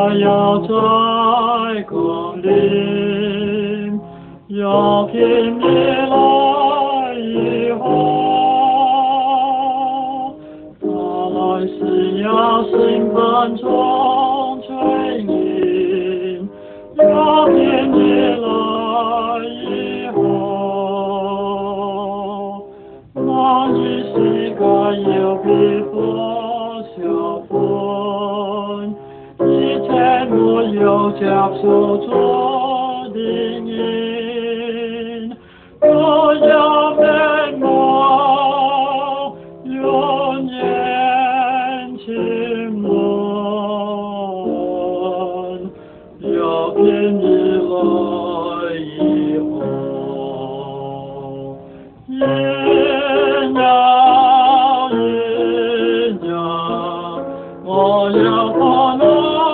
他要再光临，要凭你来以后，他来是要审判中罪人，要凭你来以后，那一世界有必不消分。没有接受做的人，我要面貌永远亲吻，要凭你来以后，人呀人呀，我要把那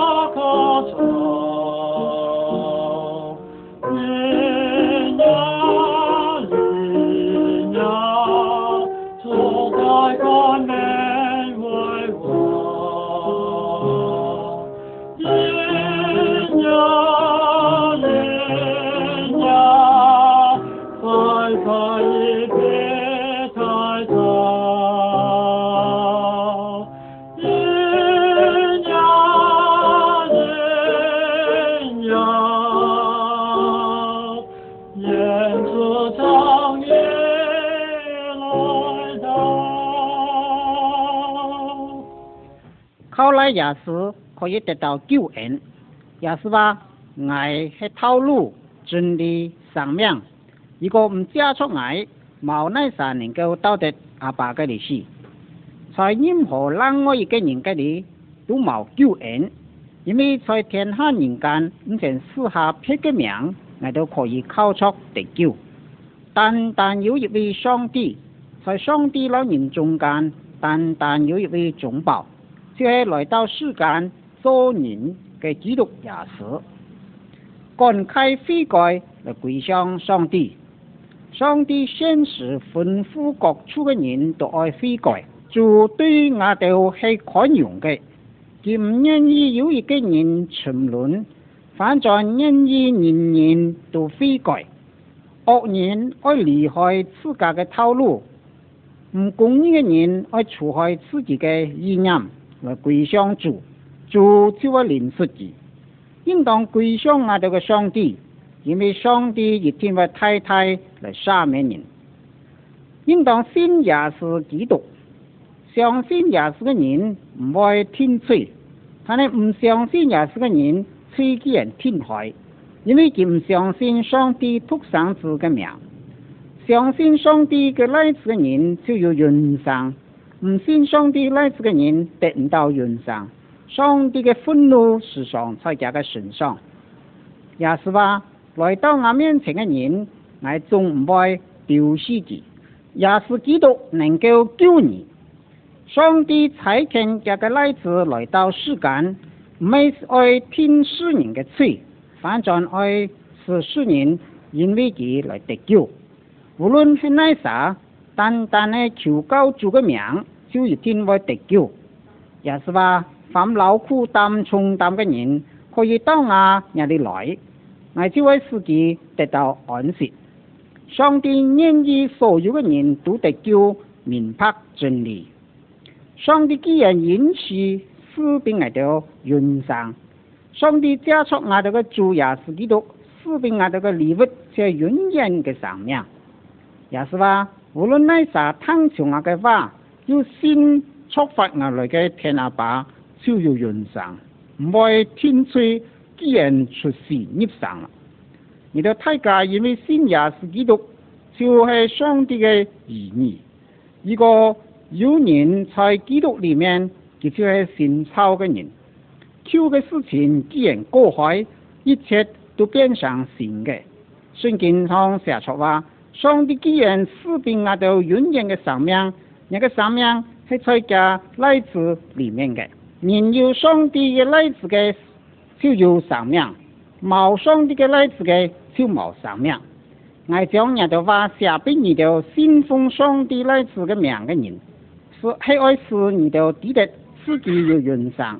靠来也是可以得到救恩，也是話愛係透露真理生命，如果唔接觸愛，冇那啥能夠到得阿爸嘅利是，在任何另外一個人嘅裏都冇救恩，因為在天下人間唔曾試下別嘅名，我都可以靠出得救，但有一位上帝，在上帝老人中間，但有一位中保。就係來到世間做人嘅基督耶穌，公開悔改嚟歸向上帝。上帝先時吩咐各處嘅人都愛悔改，就對我哋係寬容嘅，佢唔願意有一個人沉淪，反在願意人人都悔改。惡人愛離開自家嘅道路，唔公義嘅人愛除開自己嘅意念。來歸向主，主就會憐恤佢。應當歸向我哋嘅上帝，因為上帝一定會太太來赦免人。應當信耶穌基督，相信耶穌嘅人唔會天罪，但係唔相信耶穌嘅人罪既然天海，因為佢唔相信上帝獨生子嘅名。相信上帝嘅來子嘅人就有永生。唔信上帝來子嘅人得唔到永生，上帝嘅憤怒時常在佢嘅身上。也是話來到我面前嘅人，我總唔會丟棄佢。也是基督能夠救你。上帝差遣佢嘅來子來到世間，唔係愛聽世人嘅罪，反正愛使世人因為佢來得救。無論係哪啥，單係求告主嘅名，就一定會得救。也是話凡勞苦擔重擔嘅人，可以到我這裏來，我就會使佢得到安息。上帝願意所有嘅人都得救，明白真理。上帝既然允許賜俾我哋永生，上帝加速我哋嘅主耶穌基督賜俾我哋嘅禮物，係永遠嘅生命。也是話無論哪啥聽從我嘅話，要先觸發我來嘅天阿爸，就要永生，唔會天罪既然出世入生啦。而到大家因為信耶穌基督，就係上帝嘅兒女。如果有人在基督裏面，佢就係信操嘅人。求嘅事情既然過海，一切都變成善嘅。聖經上寫出話，上帝既然賜俾我哋永遠嘅生命，那個生命係在佢來自裏面嘅。人有上帝嘅來自嘅，就有生命；冇上帝嘅來自嘅，就冇生命。我將人哋話寫俾你哋信奉上帝來自嘅名嘅人，係愛使你哋記得自己有永生。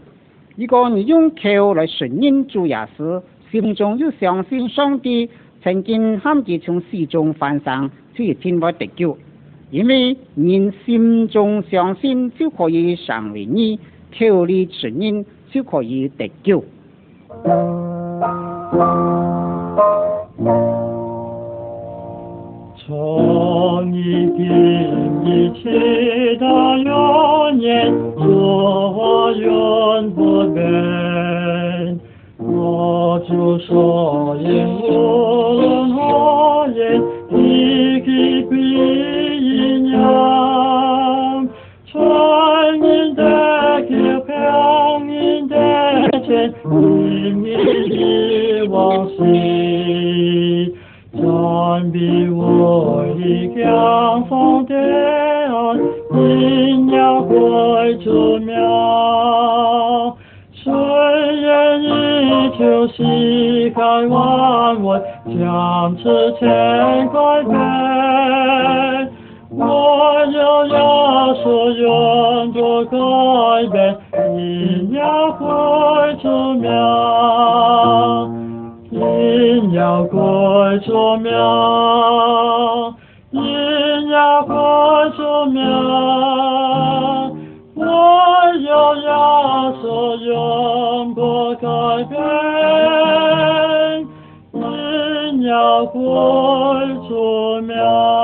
如果你用口来承認主耶穌，心中又相信上帝曾經喊佢從死中翻生，就一定會得救。因為人心中相信就可以成為義，口裏承認就可以得救。 从一定一起到永远，做永不变。我主所言无论何言，一起归一样。传人的救，평인的前，因你往昔。暂避我一江风的岸，因要归主苗。虽然依旧膝盖弯弯，将之前改变。我有要说永不改变，因要归主苗。因要归主苗，因要归主苗，我有要说永不改变，因要归主苗。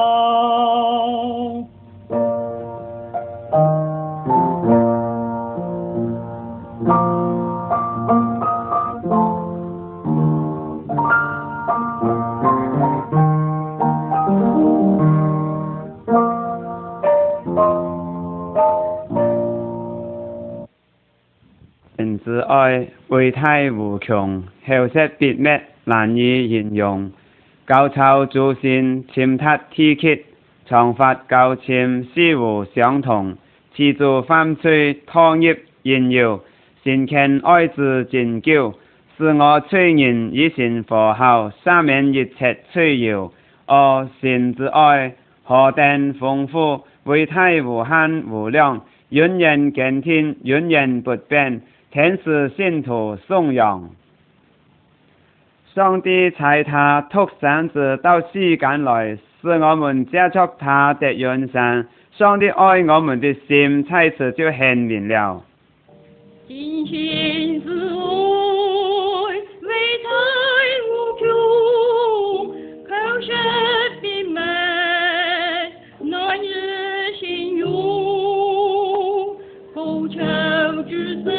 神之愛偉大無窮，厚實別滅，難以形容。高超諸善，深達天極，創法高深，事無相同。持住犯罪，湯業應有，先kend愛之真久，使我罪人以身和好，赦免一切罪孽。哦，神之愛何等豐富，偉大無限無量，永遠堅定，永遠不變。天使信徒頌揚，上帝差他獨生子到世間來，使我們接觸他的永生。上帝愛我們的心，在此就顯明了。 今生之愛，偉大無窮，口舌別滅，難以形容。口求之神。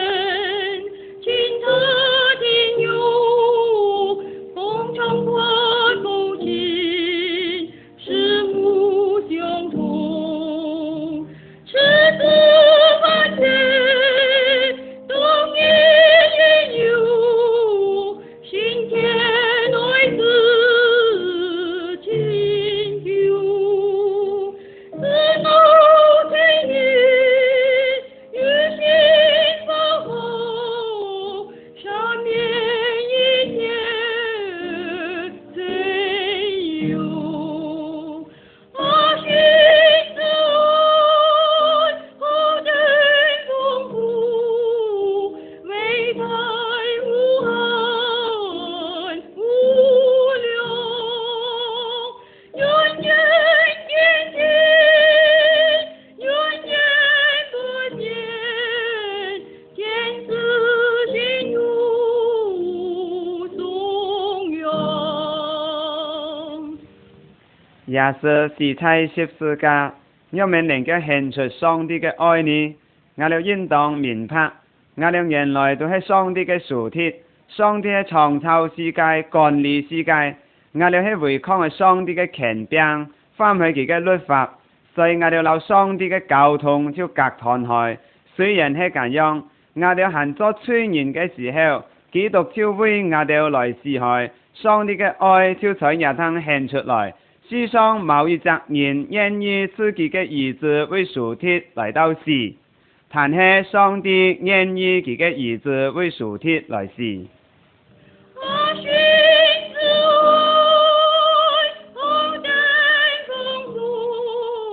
也是是在十字架，我們能夠獻出上帝嘅愛呢？我哋應當明白，我哋原來都係上帝嘅屬鐵，上帝係創造世界、管理世界，我哋係違抗係上帝嘅權柄，反去佢嘅律法，所以我哋留上帝嘅交通就隔斷開。雖然係咁樣，我哋行作罪人嘅時候，基督就為我哋來死害，上帝嘅愛就在日頭獻出來。世上冇一隻人願意自己嘅兒子為屬鐵來到死，但係上帝願意佢嘅兒子為屬鐵來死。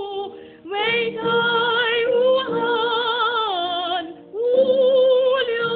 偉大無限無量。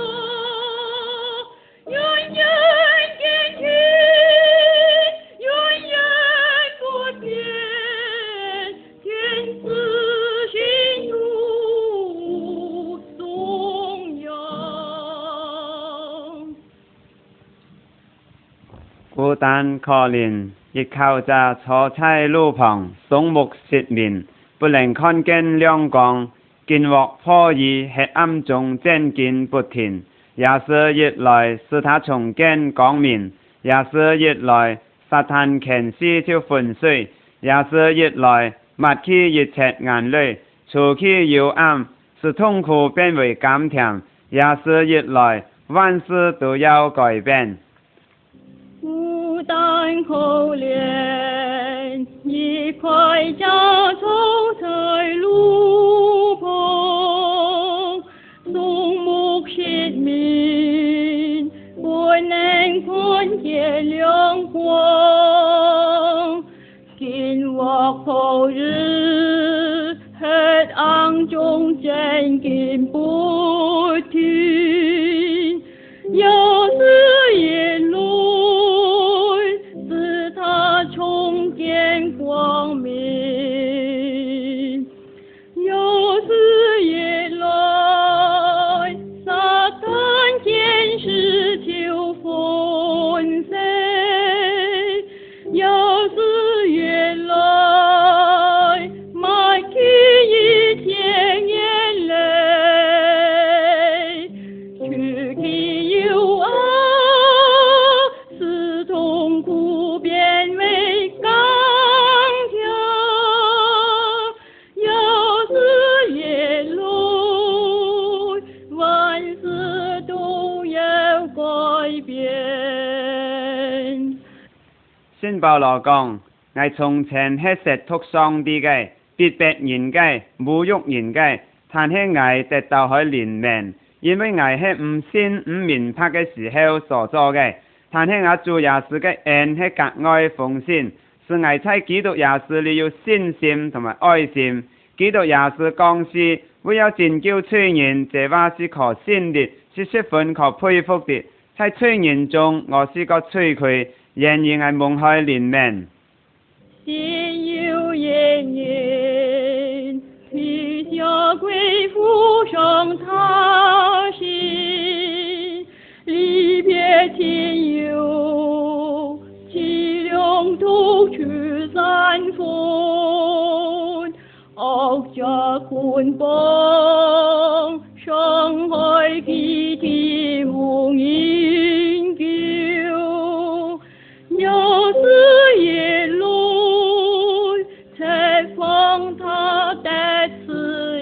孤單可憐，亦靠着坐在路旁，雙目失明，不能看見亮光，見獲破於黑暗中漸見不停。也是日來使他重見光明，也是日來撒旦權勢就粉碎，也是日來抹去一切眼淚，除去幽暗，使痛苦變為甘甜，也是日來萬事都要改變。 孤單可憐，一塊家走在路旁，雙目失明，不能看見亮光，見獲破日，黑暗中漸見不停，又是夜來使他重見光明，又是夜來撒旦權勢就粉碎，又是夜來抹去一切眼淚，去去幽暗，使痛苦變為甘甜，又是夜來萬事都要改變。 聖保羅講，我從前係褻瀆上帝嘅，逼迫人嘅，侮辱人嘅，但係我得到佢憐憫，因為我係唔信唔明白嘅時候所做嘅，但係我主耶穌嘅恩係格外豐盛，使我在基督耶穌裏有信心同埋愛心。基督耶穌降世為了拯救罪人，這話是可信的，是十分可佩服的。在罪人中，我是個罪魁，然而我蒙佢憐憫。 心有怨言，披下归附上他心，离别亲友，凄凉途去散分，惡家捆綁，傷害基地無應救，又是夜來才放他的自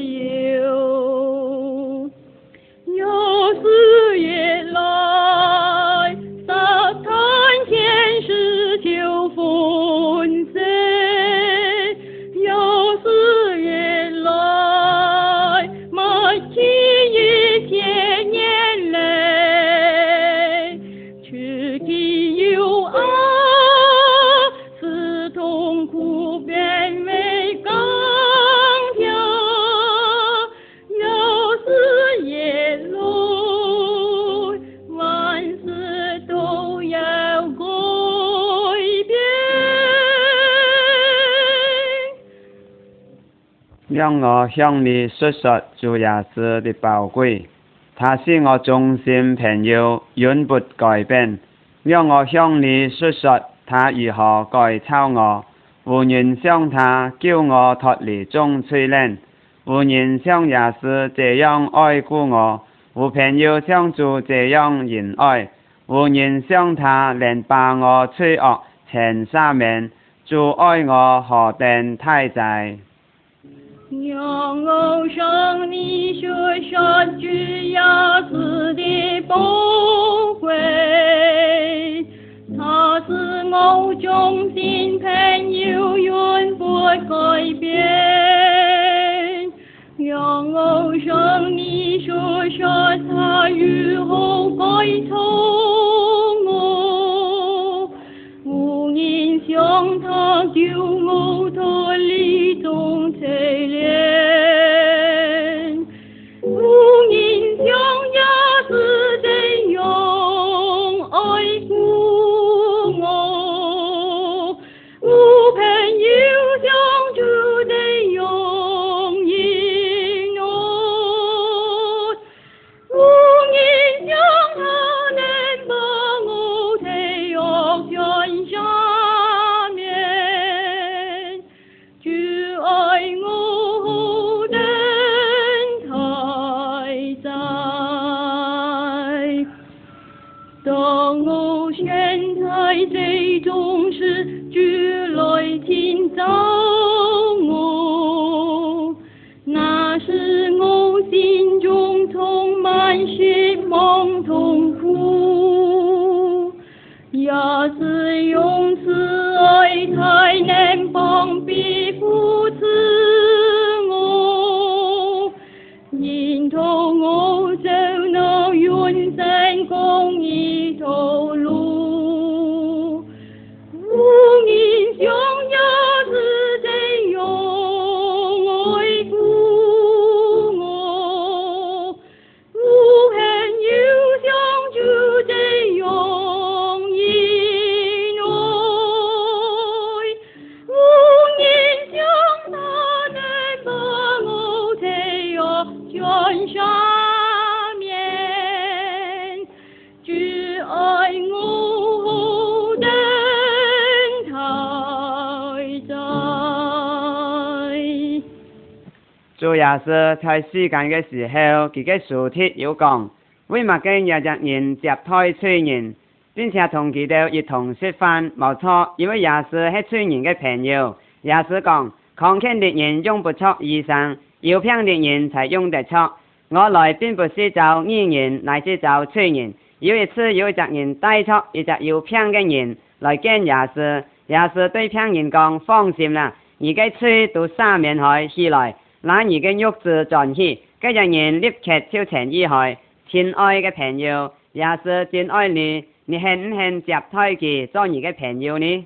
由，又是夜來撒旦權勢就粉碎，又是夜來抹去一切眼淚，去去幽暗，使痛苦變為甘甜，又是夜來萬事都要改變。 讓我向你述說主耶穌的寶貴，他是我忠心朋友，永不改變。讓我向你述說他如何改造我，無人像他叫我脫離眾罪人，無人像耶穌這樣愛顧我，無朋友像主這樣仁愛，無人像他能把我罪惡全赦免，主愛我何等太哉！ 讓我向你說說主耶穌的寶貴，他是我忠心朋友，永不改變。讓我向你說說他如何改造我，無人像他救我脫離眾罪人，無人像耶穌這樣愛顧我，無朋友像主這樣仁愛，無人像他能把我的惡向當我現在這種事主來遷就我，那時我心中充滿失望痛苦，也是用慈愛才能幫庇扶持我，引導我走那永生公義道路。我英雄也是這樣愛顧我，我很憂傷就這樣因愛，我英雄他能把我這樣全下面，只愛我等太在。 主也是在世間嘅時候，佢嘅書帖有講，為乜嘅有隻人接待罪人，並且同佢哋一同食飯，冇錯，因為也是係罪人嘅朋友。也是講，慷慨的人用不出醫生，有病的人才用得出。我來並不是找義人，乃是找罪人。有一次有一隻人帶出一隻有病嘅人來見耶穌，耶穌對病人講：放心啦，你嘅罪都赦免起來，那你嘅肉質轉起，嗰隻人立刻就痊癒開。親愛嘅朋友，耶穌真愛你，你肯唔肯接待佢做你嘅朋友呢？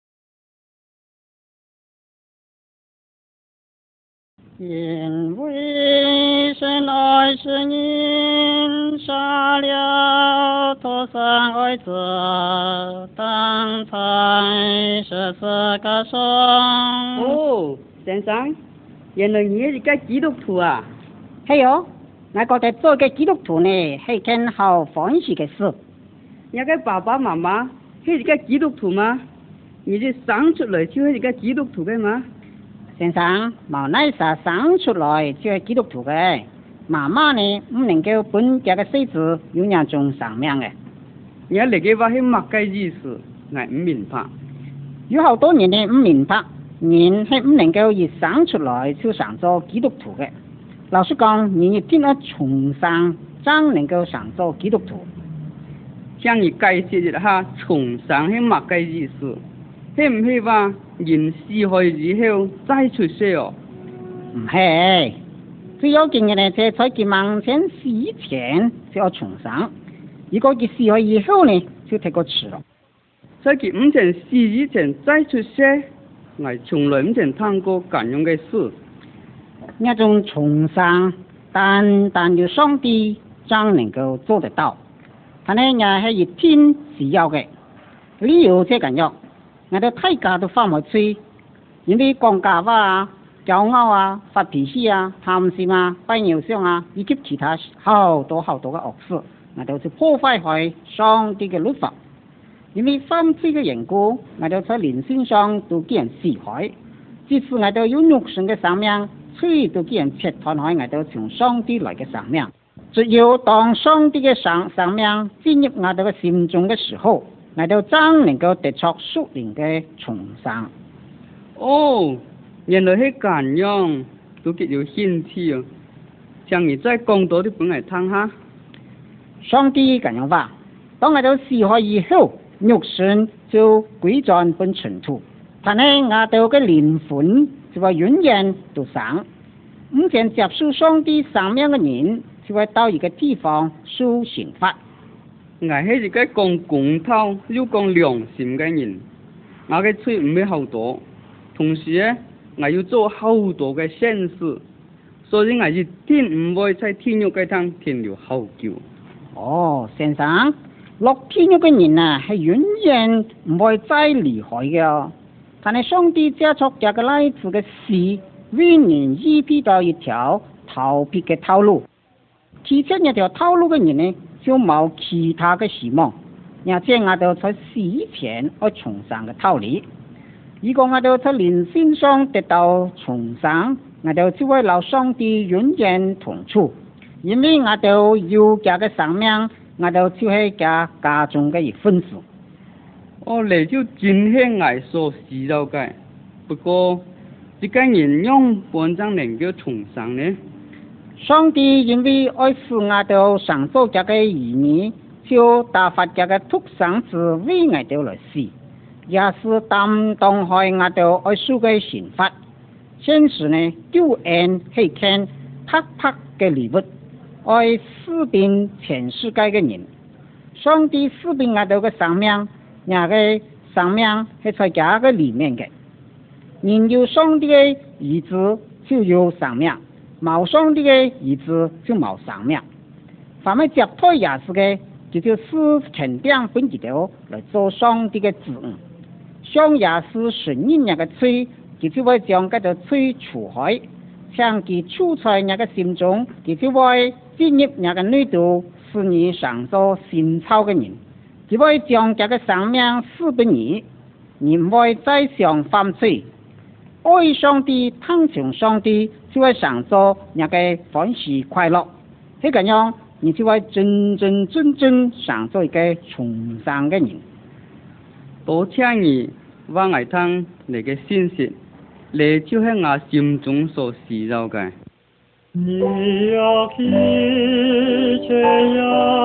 因为神爱世人，杀了他生儿子，当才是这个生。 哦，先生，原來你係一個基督徒啊？ 係喲，我覺得做個基督徒呢係件好歡喜嘅事。 你嘅爸爸媽媽係一個基督徒嗎？你哋生出來就係一個基督徒嘅嗎？ 先生，冇乃是生出來就係基督徒嘅，媽媽呢唔能夠本家嘅細子有那種生命嘅。 你嚟嘅話係乜嘅意思？我唔明白。 有好多人呢唔明白，人係唔能夠一生出來就上做基督徒嘅。老實講，人一定要從生才能夠上做基督徒。 向你解釋一下，從生係乜嘅意思？係唔係話人死去以後再出世哦？ 唔係，最要緊嘅呢，就係在佢亡前死前就要重生。如果佢死去以後呢，就太過遲咯。 在佢唔曾死以前再出世，我從來唔曾聽過咁樣嘅事。 那種重生，但要上帝才能夠做得到。但係也係一天只有嘅，理由即係咁樣。我哋大家都翻唔去，因為講假話啊、驕傲啊、發脾氣啊、貪心啊、拜偶像啊，以及其他好多嘅惡事，我哋就破壞開上帝嘅律法。因為犯罪嘅緣故，我哋在靈性上都叫人死害，即使我哋有肉身嘅生命，罪都叫人切斷開我哋從上帝來嘅生命。只有當上帝嘅生命進入我哋嘅心中嘅時候，我哋真能夠得出屬靈嘅重生。 哦，原來係咁樣，都幾有興趣啊！請你再講多啲俾我聽下。 上帝咁樣話：當我哋死去以後，肉身就歸轉本塵土，但係我哋嘅靈魂就話永遠都生。唔想接受上帝生命嘅人，就會到一個地方受刑罰。 我係一個講公道又講良心嘅人，我嘅罪唔係好多，同時咧，我要做好多嘅善事，所以我一定唔會在天獄嘅堂停留好久。 哦，先生，落天獄嘅人啊，係永遠唔會再離開嘅。但係上帝借出這個來自嘅事，為人預備到一條逃避嘅道路。其實一條道路嘅人呢，就冇其他嘅希望，而且我哋在死前要重生嘅道理。如果我哋在靈性上得到重生，我哋就會留上帝永遠同處，因為我哋有這個生命我就就是家中嘅一份子。 你就真係我所知道嘅。不過，這個人用本章能夠重生呢？ 上帝因為愛使我哋上做這個兒女，就打發這個獨生子為我哋來死，也是擔當開我哋愛受嘅刑罰。現時呢，救恩係看拍拍嘅禮物，愛使遍全世界嘅人。上帝使遍我哋嘅生命，那個生命係在這個裡面嘅。人有上帝嘅兒子就有生命，冇上帝嘅兒子就冇生命。凡係接託耶穌嘅，就是全定本己條來做上帝嘅子女。像耶穌承認那個罪，就會將嗰個罪除開；將其處在那個心中，就會進入那個內度，使你上做新造嘅人。就會將這個生命賜俾你，你唔會再想犯罪。愛上帝、聽從上帝，就會上做那個歡喜快樂。係咁樣，你就會真正上做一個重生嘅人。 多謝你話我聽你嘅信息，你就係我心中所知道嘅。 你要聽見耶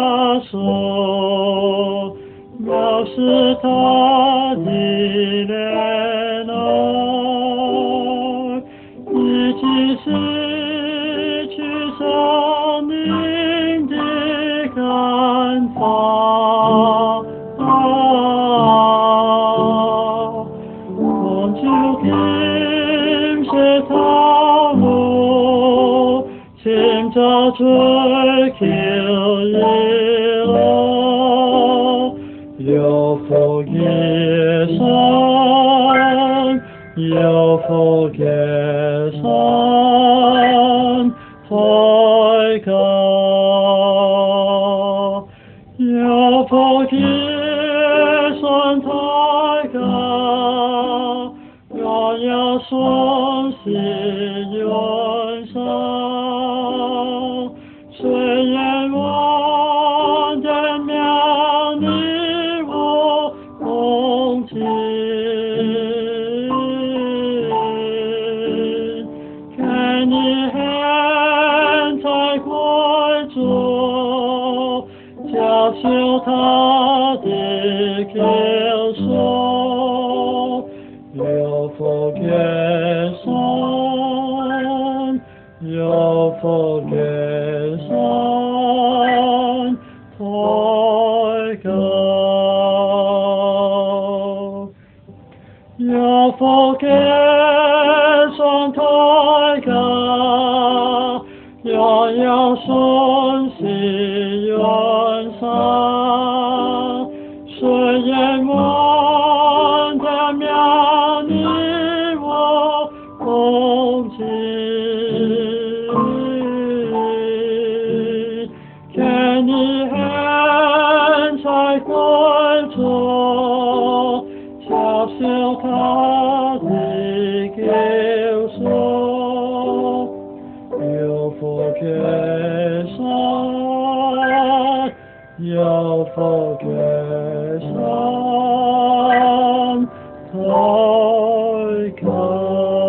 穌，要是他的憐愛，已經失去生命的看法。我就跟隨他路，尋找追求耶和華，有福嘅山，有福嘅山，抬高，有福嘅山抬高，我要順時遠上，雖然我的名你我共進，看你現在歸主，接受他的救贖，有福嘅山，有福嘅山，抬高，有福嘅山抬高，我要順時遠上，雖然我的名你我共進，看你現在歸主，接受他的救贖，有福嘅山，有福嘅山，抬高。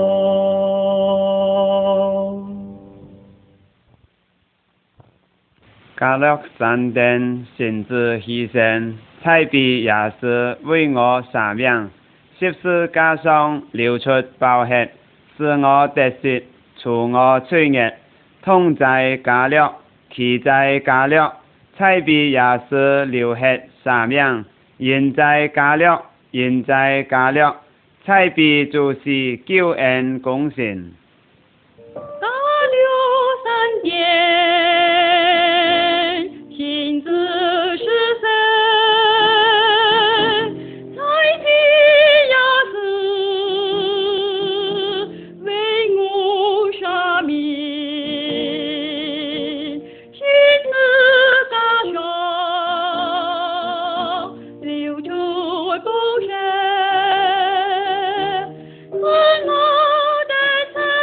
加勒山頂先知犧牲，才被耶穌為我捨命，十字架上流出寶血，使我得釋，除我罪孽。痛在加勒，奇在加勒，才被耶穌流血捨命，人在加勒，人在加勒，才被主是救恩公信。 大流山間，親自是誰？在地亞斯為我捨命，親自打傷，流出寶血，使我的罪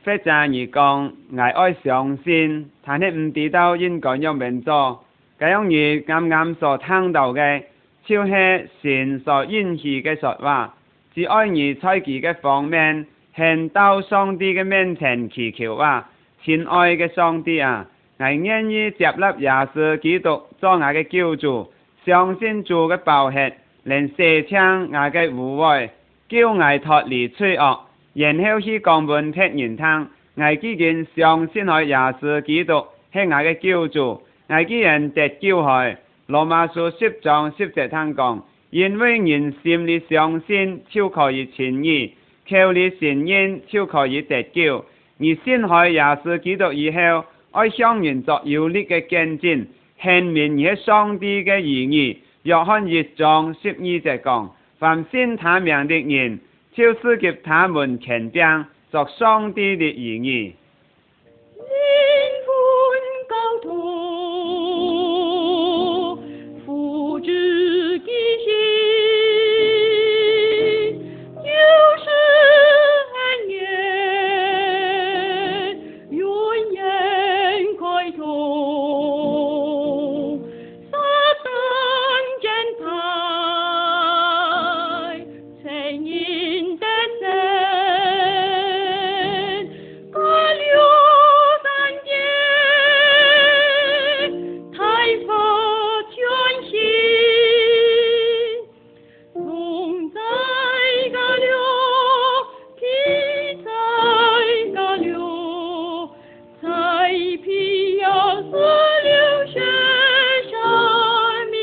或者而講，我愛相信，但係唔知道應該要點做。咁樣如啱啱所聽到嘅，就是神所應許嘅說話，只愛而在佢嘅方面，獻到上帝嘅面前祈求話，親愛嘅上帝啊，我願意接納耶穌基督做我嘅救主，相信主嘅寶血，能洗清我嘅污穢，叫我脫離罪惡，然後去講本聽人聽，我既然相信喺耶穌基督係我嘅救主，我既然得救喺羅馬書10章10節聽講，因為人心裏相信就可以稱義，口裏承認就可以得救。而先喺耶穌基督以後，愛向人作有力嘅見證，顯明而係上帝嘅兒女。約翰1章12節講，凡信他名的人，就是給他們權柄作上帝的兒女。 靈魂高頭，父子嘅心，就是恩言，永遠開通。撒旦踐踏，承認得勝，各流三界，太發全心，龍在高流，披在高流，才披要死流血生命，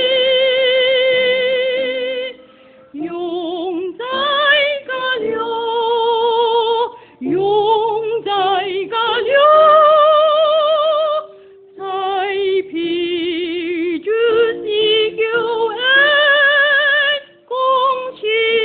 永在高流，永在高流，才披主是救恩公義。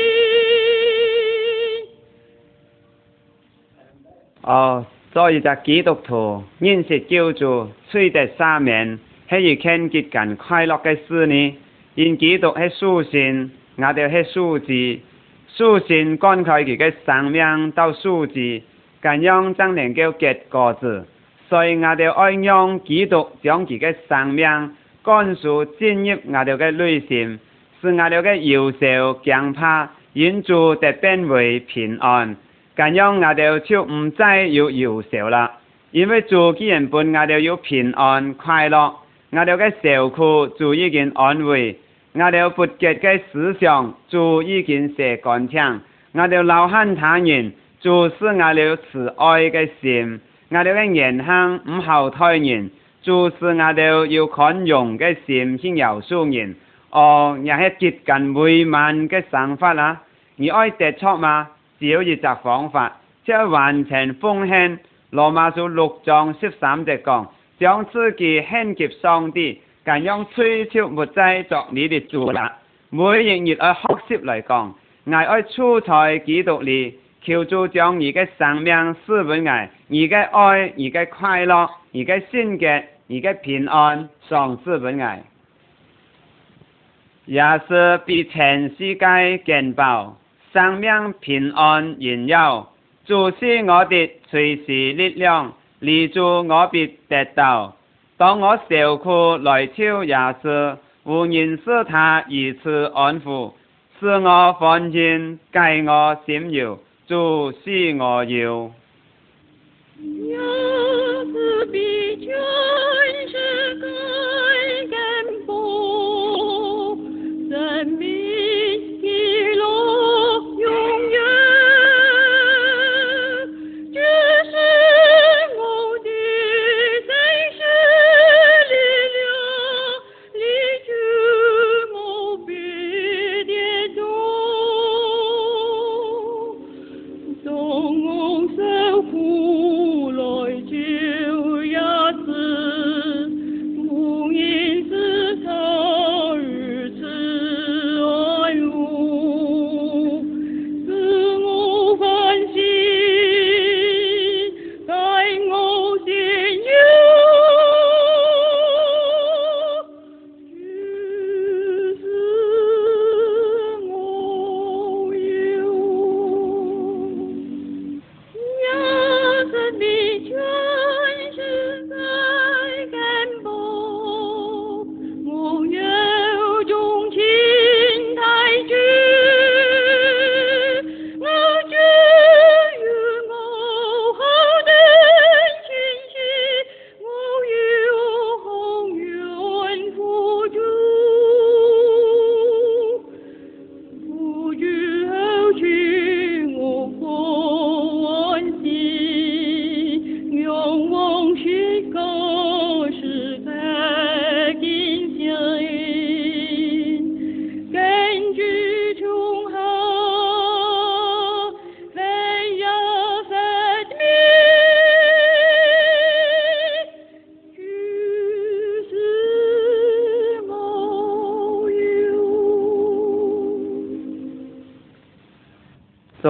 所以就基督徒認識救主，罪得赦免，係一件極近快樂嘅事呢。因基督係屬神，我哋係屬子，屬神乾開佢嘅生命到屬子，咁樣才能夠結果子。所以我哋愛用基督將佢嘅生命灌輸進入我哋嘅內心，使我哋嘅憂愁驚怕因主得變為平安。咁樣我哋就唔再有憂愁啦，因為主既然本我哋有平安快樂，我哋嘅受苦主已經安慰，我哋不潔嘅思想主已經洗乾淨，我哋勞恨他人主使我哋慈愛嘅心，我哋嘅言行唔後退人，主使我哋有寬容嘅心去饒恕人。也係極近美滿嘅想法啦。而愛得出嘛？只有一個方法，即係完全奉獻。羅馬書6章13節講，將自己獻給上帝，咁樣追求沒再作你的主啦。每一日愛學習嚟講，我愛處在基督裏，求主將你嘅生命賜俾我，你嘅愛、你嘅快樂、你嘅聖潔、你嘅平安，賞賜俾我。也是比全世界更寶，生命平安榮耀，主是我的隨時力量，離主我必得到。當我受苦來求也是，無人使他以此安撫，使我歡欣，解我心憂，主是我有。 也是比全世界更寶，生命喜樂永遠，這是我的隨時力量，離主我必得到。當我受苦來求也是。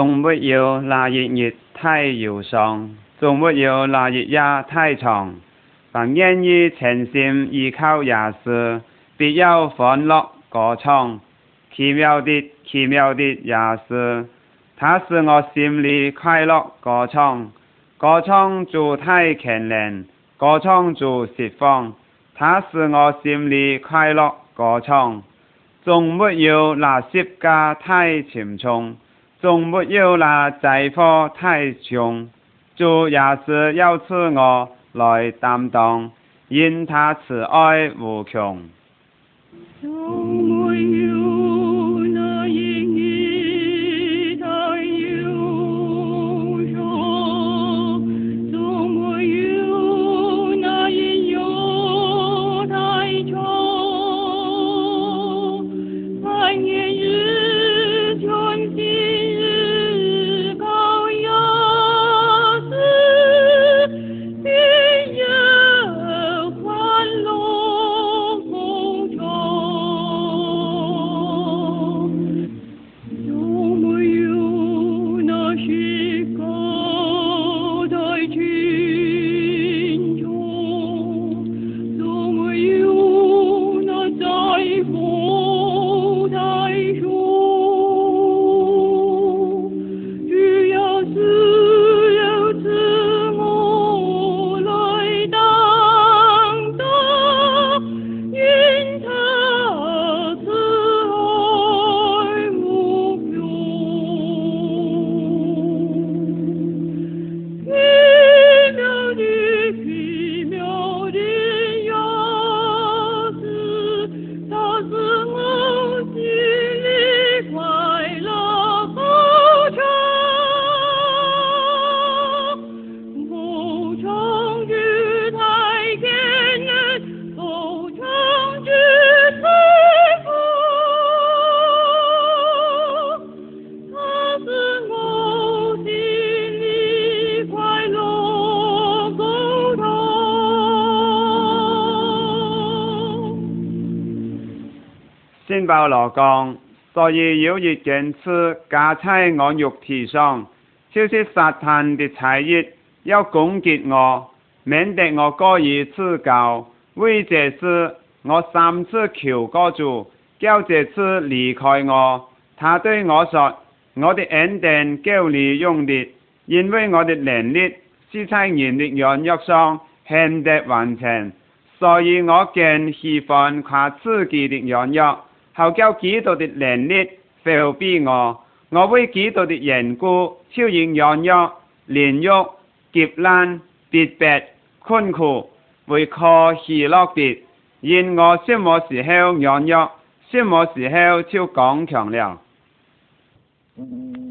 仲沒有那日月太遙上，仲沒有那日夜太長。凡願意誠心依靠耶穌，必有歡樂歌唱。奇妙的，奇妙的耶穌，他使我心裡快樂歌唱。歌唱主太強烈，歌唱主釋放，他使我心裡快樂歌唱。仲沒有那十架太沉重，仲沒有那災禍太重。主也是要賜我來擔當，因他慈愛無窮。 仲沒有那陰雨太憂傷，仲沒有那陰憂太長，盼年日全心日靠耶穌，必有歡樂歌唱。仲沒有那時刻太沉重，仲沒有那災禍太重。主耶穌要賜我來擔當，因他慈愛無窮。奇妙的耶穌，他使我心裡快樂歌唱。歌唱主太強烈，歌唱主釋放，他使我心裡快樂歌唱。 聖保羅講，所以有一件事加在我肉體上，就是撒旦的差役要攻擊我，免得我過於自高。為這事，我3次求過主，叫這次離開我。他對我說：我的恩典夠你用的，因為我的能力是在人的軟弱上顯得完全。所以我更喜歡誇自己的軟弱，好叫基督的能力覆庇我。我為基督的緣故，超然軟弱、連辱、劫難、逼迫、困苦，為可喜樂的。因我什麼時候軟弱，什麼時候就剛強了。